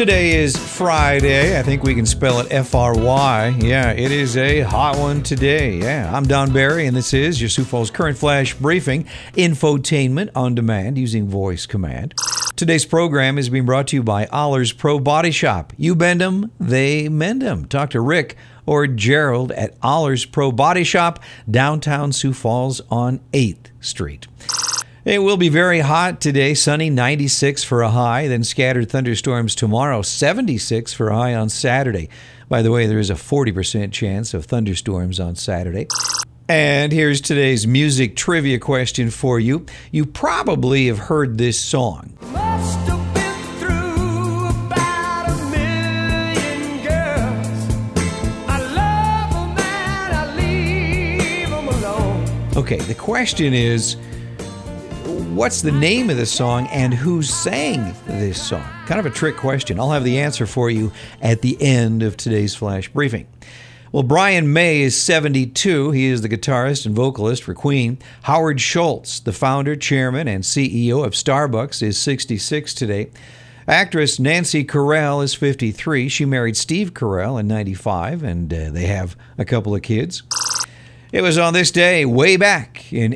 Today is Friday. I think we can spell it F-R-Y. Yeah, it is a hot one today. Yeah, I'm Don Barry, and this is your Sioux Falls Current Flash Briefing, infotainment on demand using voice command. Today's program is being brought to you by Allers Pro Body Shop. You bend 'em, they mend 'em. Talk to Rick or Gerald at Allers Pro Body Shop, downtown Sioux Falls on 8th Street. It will be very hot today, sunny, 96 for a high, then scattered thunderstorms tomorrow, 76 for a high on Saturday. By the way, there is a 40% chance of thunderstorms on Saturday. And here's today's music trivia question for you. You probably have heard this song. Must have been through about 1,000,000 girls. I love 'em and I leave 'em alone. Okay, the question is, what's the name of the song and who sang this song? Kind of a trick question. I'll have the answer for you at the end of today's flash briefing. Well, Brian May is 72. He is the guitarist and vocalist for Queen. Howard Schultz, the founder, chairman, and CEO of Starbucks, is 66 today. Actress Nancy Carell is 53. She married Steve Carell in 95, and they have a couple of kids. It was on this day, way back in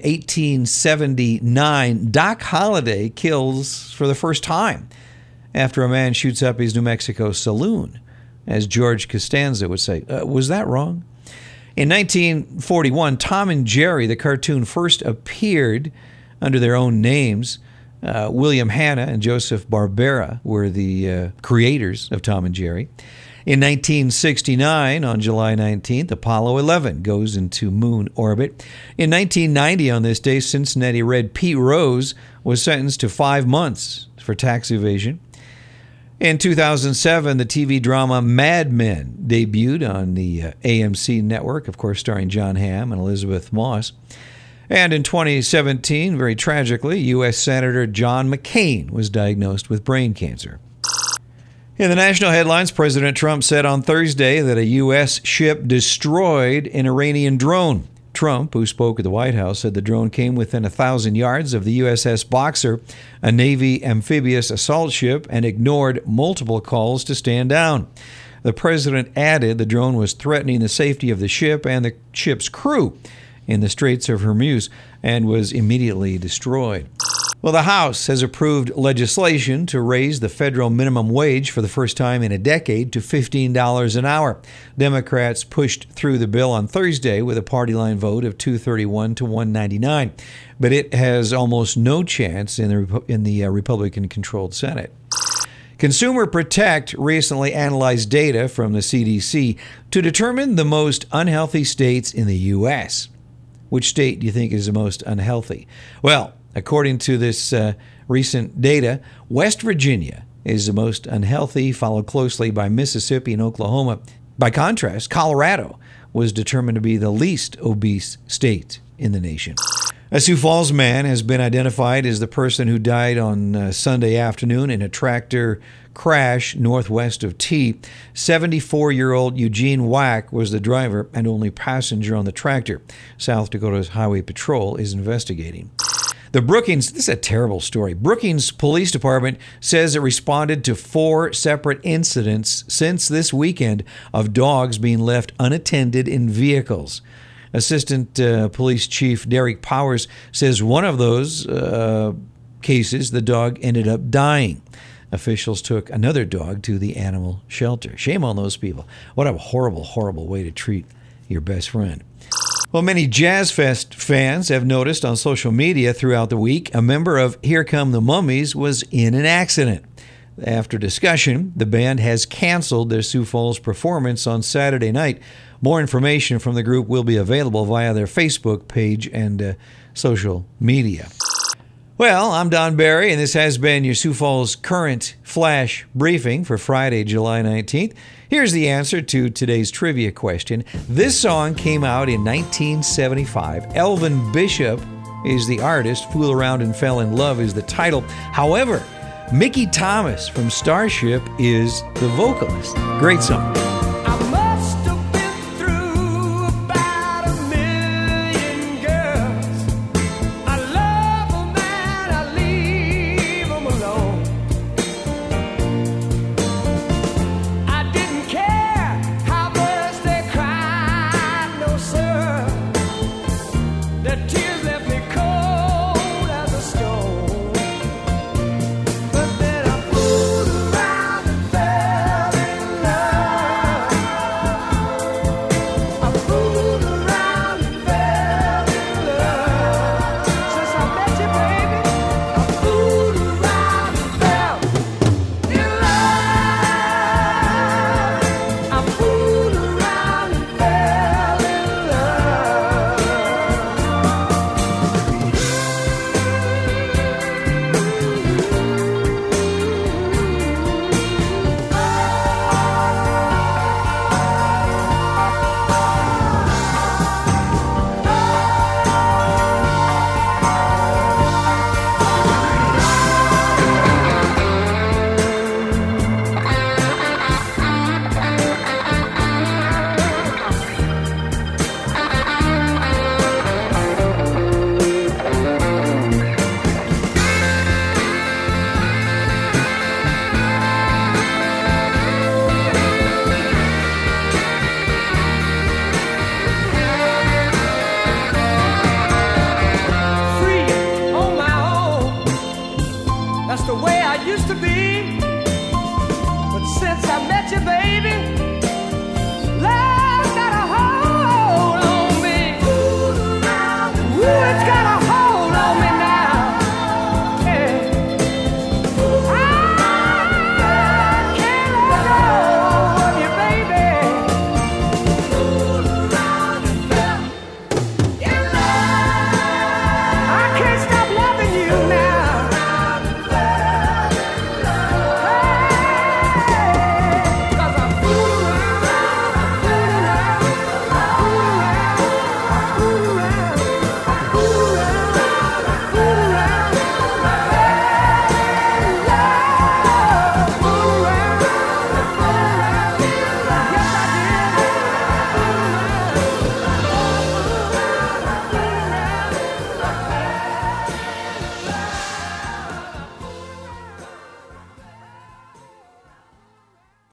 1879, Doc Holliday kills for the first time after a man shoots up his New Mexico saloon. As George Costanza would say, was that wrong? In 1941, Tom and Jerry, the cartoon, first appeared under their own names. William Hanna and Joseph Barbera were the creators of Tom and Jerry. In 1969, on July 19th, Apollo 11 goes into moon orbit. In 1990, on this day, Cincinnati Red Pete Rose was sentenced to 5 months for tax evasion. In 2007, the TV drama Mad Men debuted on the AMC network, of course starring John Hamm and Elizabeth Moss. And in 2017, very tragically, U.S. Senator John McCain was diagnosed with brain cancer. In the national headlines, President Trump said on Thursday that a U.S. ship destroyed an Iranian drone. Trump, who spoke at the White House, said the drone came within 1,000 yards of the USS Boxer, a Navy amphibious assault ship, and ignored multiple calls to stand down. The president added the drone was threatening the safety of the ship and the ship's crew in the Straits of Hormuz and was immediately destroyed. Well, the House has approved legislation to raise the federal minimum wage for the first time in a decade to $15 an hour. Democrats pushed through the bill on Thursday with a party line vote of 231 to 199, but it has almost no chance in the Republican-controlled Senate. Consumer Protect recently analyzed data from the CDC to determine the most unhealthy states in the U.S. Which state do you think is the most unhealthy? Well, according to this recent data, West Virginia is the most unhealthy, followed closely by Mississippi and Oklahoma. By contrast, Colorado was determined to be the least obese state in the nation. A Sioux Falls man has been identified as the person who died on Sunday afternoon in a tractor crash northwest of T. 74-year-old Eugene Wack was the driver and only passenger on the tractor. South Dakota's Highway Patrol is investigating. The Brookings, this is a terrible story. Brookings Police Department says it responded to 4 separate incidents since this weekend of dogs being left unattended in vehicles. Assistant Police Chief Derek Powers says one of those cases, the dog ended up dying. Officials took another dog to the animal shelter. Shame on those people. What a horrible, horrible way to treat your best friend. Well, many Jazz Fest fans have noticed on social media throughout the week a member of Here Come the Mummies was in an accident. After discussion, the band has canceled their Sioux Falls performance on Saturday night. More information from the group will be available via their Facebook page and social media. Well, I'm Don Barry, and this has been your Sioux Falls Current Flash Briefing for Friday, July 19th. Here's the answer to today's trivia question. This song came out in 1975. Elvin Bishop is the artist. Fool Around and Fell in Love is the title. However, Mickey Thomas from Starship is the vocalist. Great song. I must have been through about 1,000,000 girls. I love 'em and I leave 'em alone. the way I used to be. But since I met you, baby,